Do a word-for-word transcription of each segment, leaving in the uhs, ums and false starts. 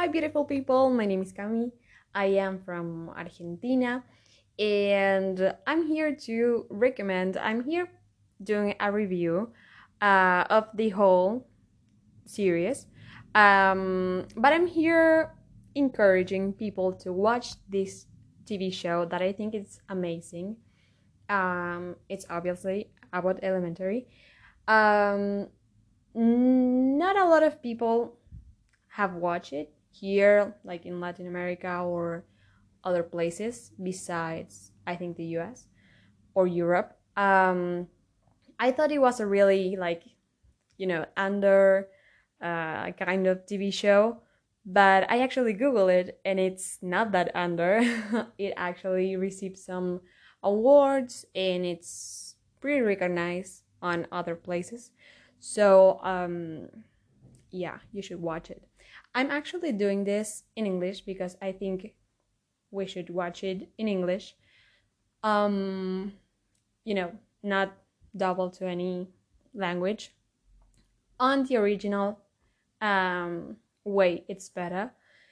Hi, beautiful people. My name is Cami. I am from Argentina and I'm here to recommend, I'm here doing a review uh, of the whole series. Um, but I'm here encouraging people to watch this T V show that I think is amazing. Um, it's obviously about elementary. Um, Not a lot of people have watched it here, like in Latin America or other places besides, I think, the U S or Europe. Um, I thought it was a really, like, you know, under uh, kind of T V show, but I actually Googled it and it's not that under. It actually received some awards and it's pretty recognized on other places. So, um, yeah, you should watch it. I'm actually doing this in English because I think we should watch it in English. Um, you know, not double to any language. On the original um, way, it's better.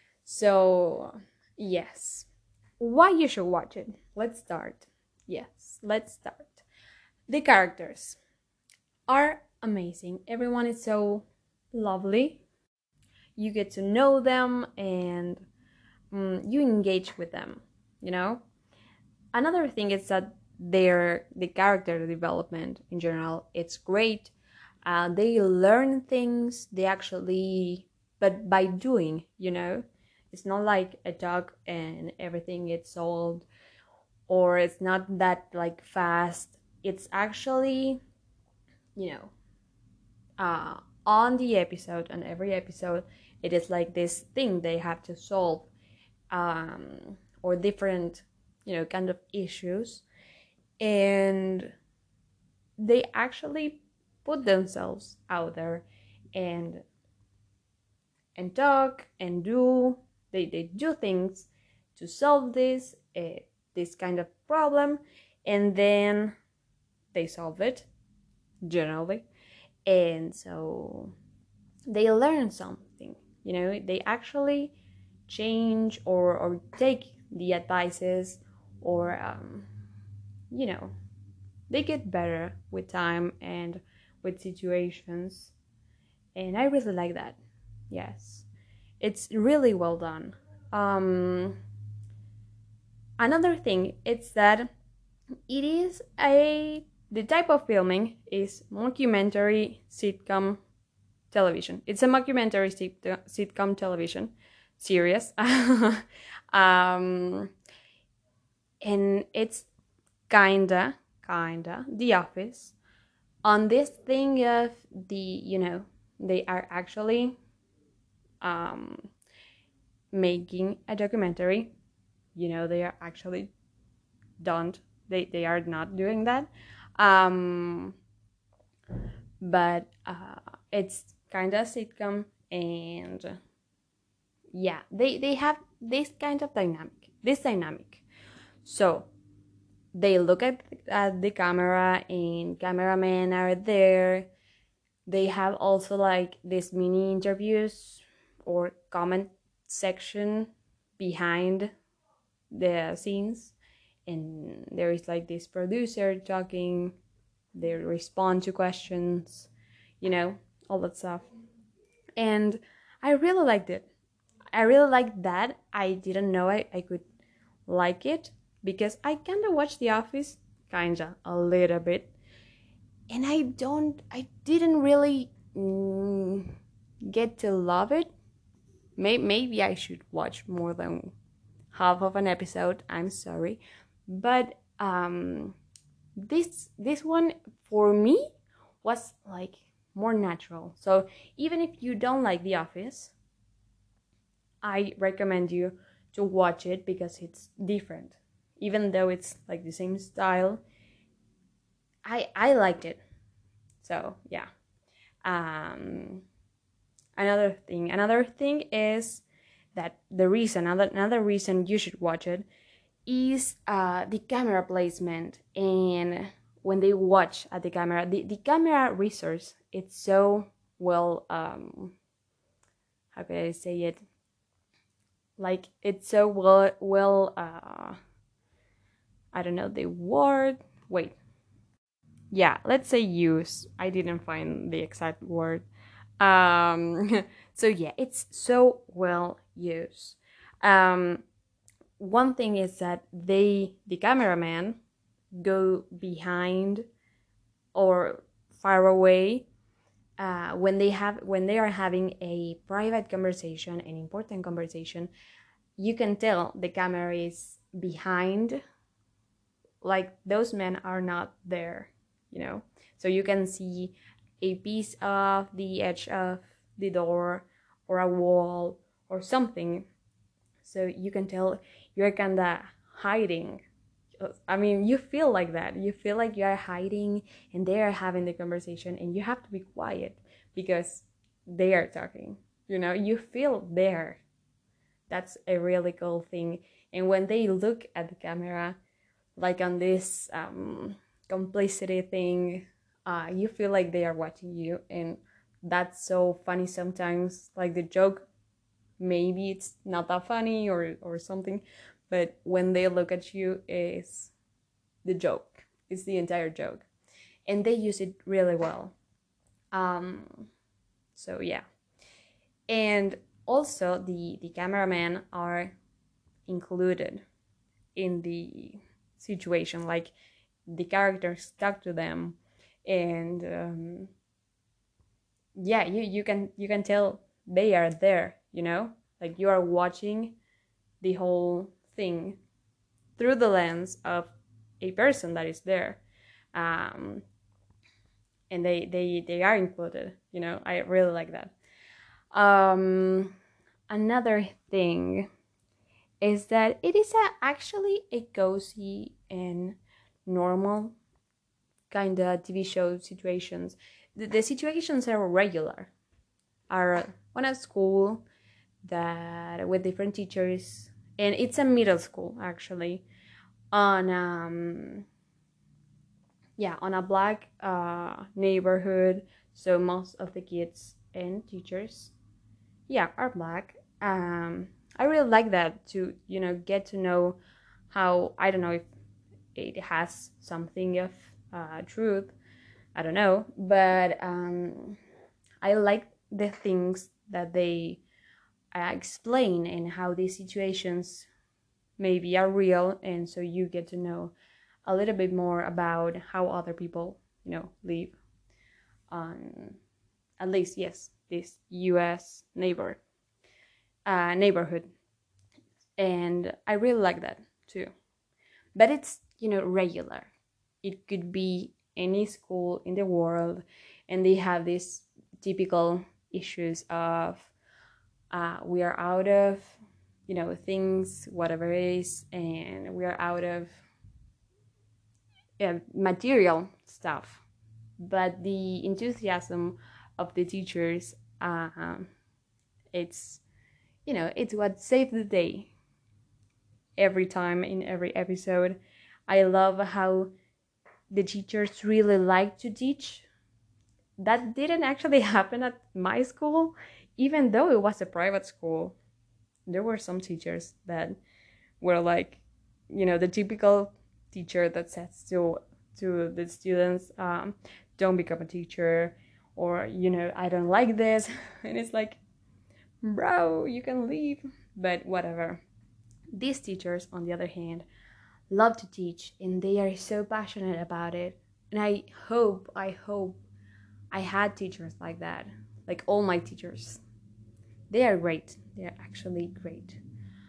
So, yes. Why you should watch it? Let's start. Yes, let's start. The characters are amazing. Everyone is so lovely. You get to know them and um, you engage with them, you know. Another thing is that their the character development in general, it's great. Uh, they learn things, they actually, but by doing, you know. It's not like a dog and everything gets solved, or it's not that like fast. It's actually, you know, uh, on the episode, on every episode, it is like this thing they have to solve, um, or different, you know, kind of issues, and they actually put themselves out there and and talk and do they, they do things to solve this uh, this kind of problem, and then they solve it generally, and so they learn something, you know. They actually change or or take the advices, or um, you know, they get better with time and with situations, and I really like that. Yes, it's really well done. um Another thing is that it is a the type of filming is mockumentary sitcom television. It's a mockumentary sit- sitcom television series. um, and it's kinda, kinda The Office. On this thing of the, you know, they are actually um, making a documentary. You know, they are actually don't. They, they are not doing that. Um, but uh, it's kind of sitcom, and yeah, they they have this kind of dynamic this dynamic so they look at, at the camera and cameramen are there. They have also like these mini interviews or comment section behind the scenes, and there is like this producer talking. They respond to questions, you know, all that stuff, and I really liked it. I really like that. I didn't know I, I could like it because I kind of watched The Office, kinda, a little bit, and I don't, I didn't really mm, get to love it. Maybe, maybe I should watch more than half of an episode. I'm sorry, but um, this this one for me was like more natural. So even if you don't like The Office, I recommend you to watch it because it's different. Even though it's like the same style, I I liked it. So yeah. Um, another thing, another thing is that the reason, another another reason you should watch it is uh, the camera placement, and when they watch at the camera, the, the camera resource, it's so well, um, how can I say it? Like it's so well well uh I don't know the word. Wait. Yeah, let's say use. I didn't find the exact word. Um so yeah, it's so well used. Um one thing is that they the cameraman go behind or far away uh, when they have when they are having a private conversation, an important conversation. You can tell the camera is behind, like those men are not there, you know. So you can see a piece of the edge of the door or a wall or something. So you can tell you're kind of hiding. I mean, you feel like that. You feel like you are hiding and they are having the conversation and you have to be quiet because they are talking. You know, you feel there. That's a really cool thing. And when they look at the camera, like on this um, complicity thing, uh, you feel like they are watching you. And that's so funny sometimes. Like the joke, maybe it's not that funny or, or something, but when they look at you, is the joke. It's the entire joke. And they use it really well. Um, so yeah. And also the, the cameramen are included in the situation. Like the characters talk to them and um, yeah, you, you can you can tell they are there, you know? Like you are watching the whole thing through the lens of a person that is there. Um, and they they they are included, you know. I really like that. Um another thing is that it is a, actually a cozy and normal kind of TV show situations. The, the situations are regular, are on a school that with different teachers, and it's a middle school actually, on um yeah, on a black uh, neighborhood. So most of the kids and teachers, yeah, are black. Um, I really like that to you know get to know how, I don't know if it has something of uh, truth. I don't know, but um, I like the things that they uh, explain and how these situations maybe are real, and so you get to know a little bit more about how other people, you know, live on, at least, yes, this U S neighbor uh, neighborhood, and I really like that too. But it's you know regular. It could be any school in the world, and they have these typical issues of uh, we are out of you know things, whatever it is, and we are out of uh, material stuff, but the enthusiasm of the teachers, uh, it's you know it's what saved the day every time in every episode. I love how the teachers really like to teach. That didn't actually happen at my school, even though it was a private school. There were some teachers that were like, you know, the typical teacher that says to to the students, um, "Don't become a teacher," or you know, "I don't like this," and it's like, bro, you can leave. But whatever. These teachers, on the other hand, love to teach and they are so passionate about it. And I hope, I hope I had teachers like that. Like all my teachers. They are great. They are actually great.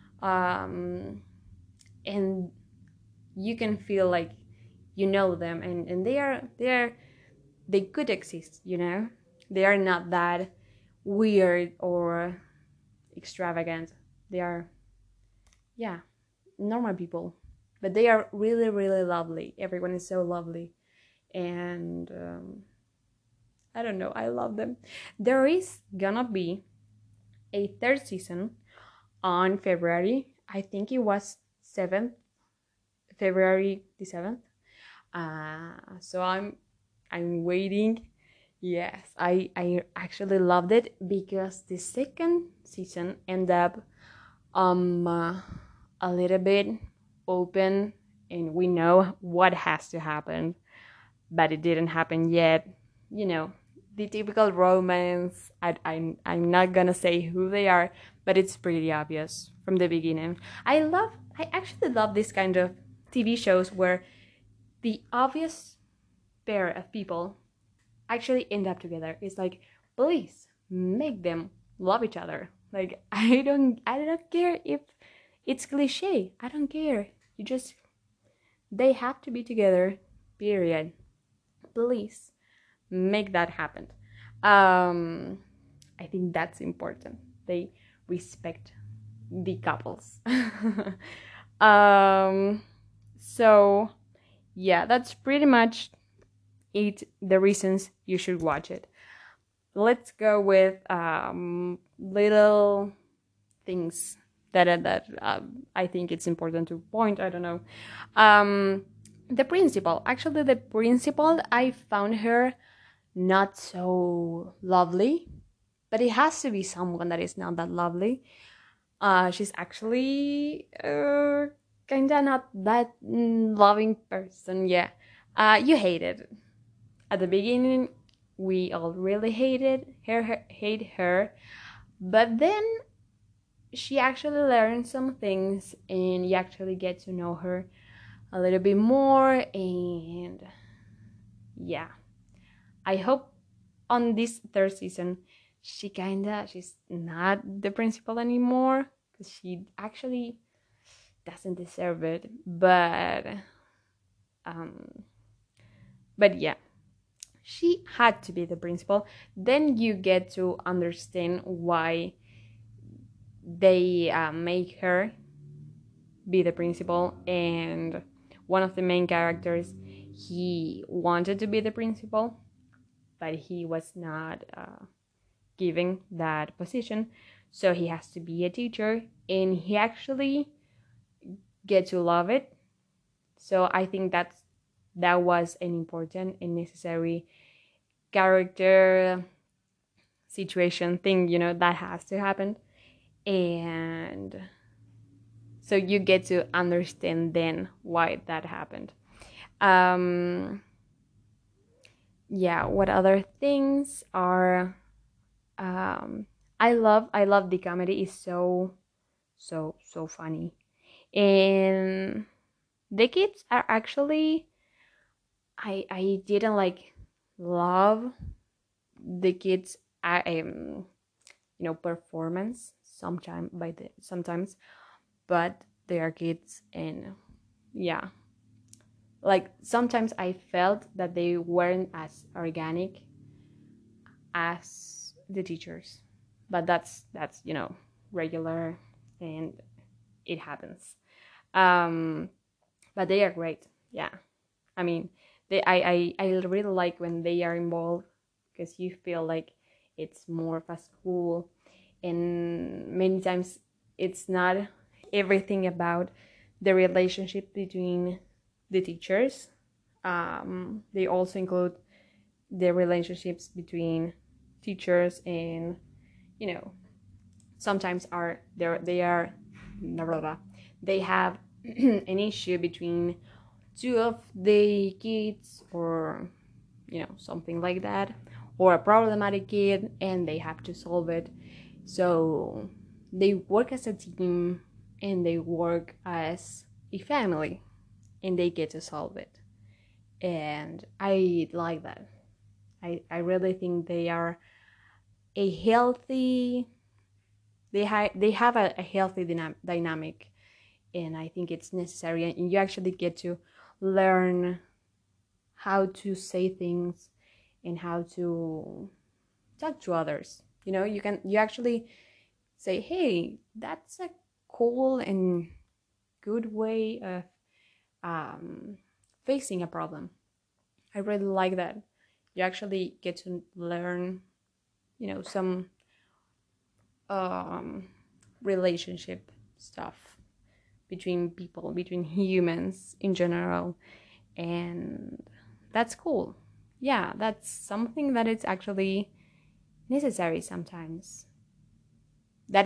Um, and you can feel like you know them, and, and they are they are they could exist, you know? They are not that weird or extravagant. They are, yeah, normal people, but they are really really lovely. Everyone is so lovely, and um, I don't know, I love them. There is gonna be a third season on February. I think it was seventh, February the seventh. Uh, so I'm I'm waiting. Yes, I I actually loved it because the second season ended up um uh, a little bit open, and we know what has to happen, but it didn't happen yet. You know, the typical romance. I, I, I'm not gonna say who they are, but it's pretty obvious from the beginning. I love, I actually love this kind of T V shows where the obvious pair of people actually end up together. It's like, please make them love each other. Like, I don't, I don't care if it's cliche. I don't care. You just, they have to be together. Period. Please make that happen. Um, I think that's important. They respect the couples. um, so yeah, that's pretty much it. The reasons you should watch it. Let's go with um, little things that that uh, I think it's important to point. I don't know. Um, the principal. Actually, the principal. I found her not so lovely, but it has to be someone that is not that lovely. Uh, she's actually uh, kinda not that loving person. Yeah, uh, you hate it at the beginning. We all really hated her, her, hate her, but then she actually learns some things, and you actually get to know her a little bit more. And yeah, I hope on this third season she kinda she's not the principal anymore, because she actually doesn't deserve it. But um but yeah, she had to be the principal. Then you get to understand why they uh, make her be the principal. And one of the main characters, he wanted to be the principal, but he was not uh, given that position, so he has to be a teacher, and he actually get to love it. So I think that's that was an important and necessary character situation thing, you know, that has to happen. And so you get to understand then why that happened. um yeah, what other things are um i love i love the comedy. Is so so so funny. And the kids are actually, i i didn't like love the kids uh, um you know, performance sometime by the sometimes, but they are kids. And yeah, like sometimes I felt that they weren't as organic as the teachers. But that's that's you know, regular, and it happens. um but they are great. Yeah, I mean, they I I, I really like when they are involved, because you feel like it's more of a school. And many times it's not everything about the relationship between the teachers. Um, they also include the relationships between teachers and, you know, sometimes are they they are blah, blah, blah. They have an issue between two of the kids, or you know, something like that, or a problematic kid, and they have to solve it. So they work as a team, and they work as a family, and they get to solve it. And I like that. I, I really think they are a healthy, they, ha- they have a, a healthy dynam- dynamic. And I think it's necessary, and you actually get to learn how to say things and how to talk to others. You know, you can you actually say, hey, that's a cool and good way of um, facing a problem. I really like that. You actually get to learn, you know, some um, relationship stuff between people, between humans in general. And that's cool. Yeah, that's something that it's actually necessary sometimes. That it's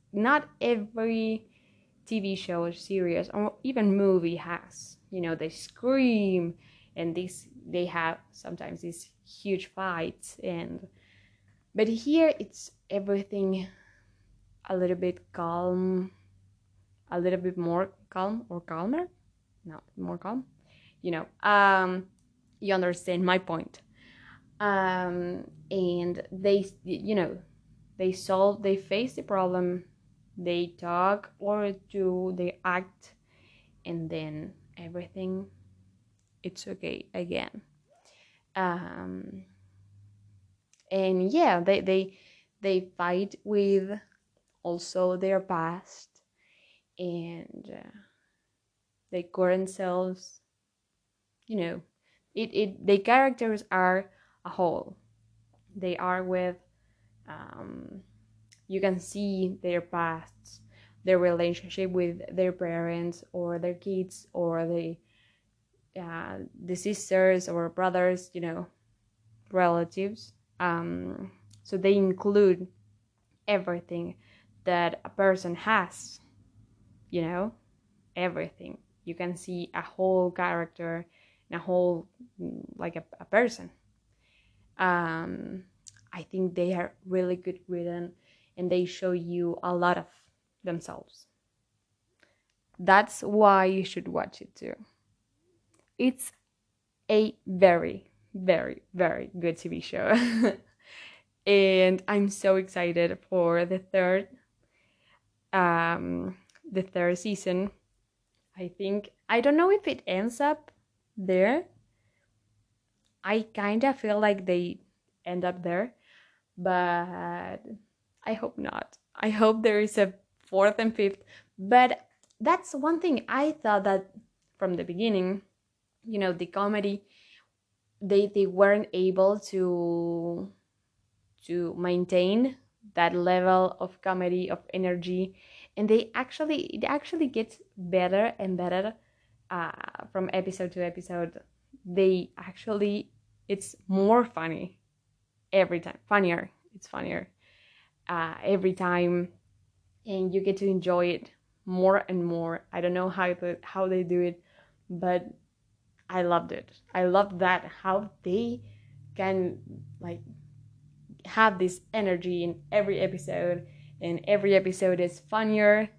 not every T V show or series or even movie has. You know, they scream and these they have sometimes these huge fights, and but here it's everything a little bit calm, a little bit more calm or calmer. No, more calm. You know, um, you understand my point. Um, and they, you know, they solve, they face the problem, they talk or do, they act, and then everything, it's okay again. Um, and yeah, they they they fight with also their past and uh, their current selves. You know, it it the characters are a whole. They are with um, you can see their pasts, their relationship with their parents or their kids or the uh, the sisters or brothers, you know, relatives. Um, so they include everything that a person has, you know, everything. You can see a whole character and a whole, like a, a person. Um, I think they are really good written and they show you a lot of themselves. That's why you should watch it too. It's a very, very, very good T V show. And I'm so excited for the third um the third season. I think I don't know if it ends up there. I kind of feel like they end up there, but I hope not. I hope there is a fourth and fifth. But that's one thing I thought that from the beginning, you know, the comedy, they they weren't able to to maintain that level of comedy of energy, and they actually it actually gets better and better uh, from episode to episode. They actually it's more funny every time, funnier. It's funnier uh, every time, and you get to enjoy it more and more. I don't know how the, how they do it, but I loved it. I loved that how they can like have this energy in every episode, and every episode is funnier.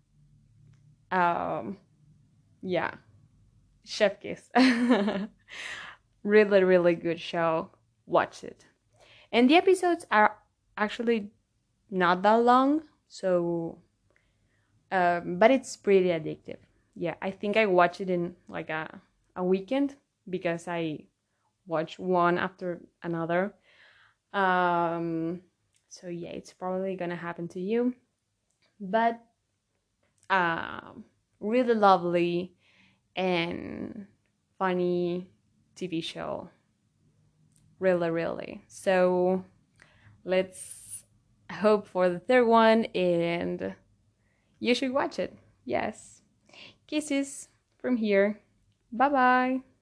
Um, yeah, chef kiss. Really, really good show. Watch it. And the episodes are actually not that long, so um, but it's pretty addictive. Yeah, I think I watched it in like a a weekend because I watch one after another. Um, so yeah, it's probably gonna happen to you. But um, really lovely and funny T V show. Really, really. So let's hope for the third one, and you should watch it. Yes. Kisses from here. Bye bye.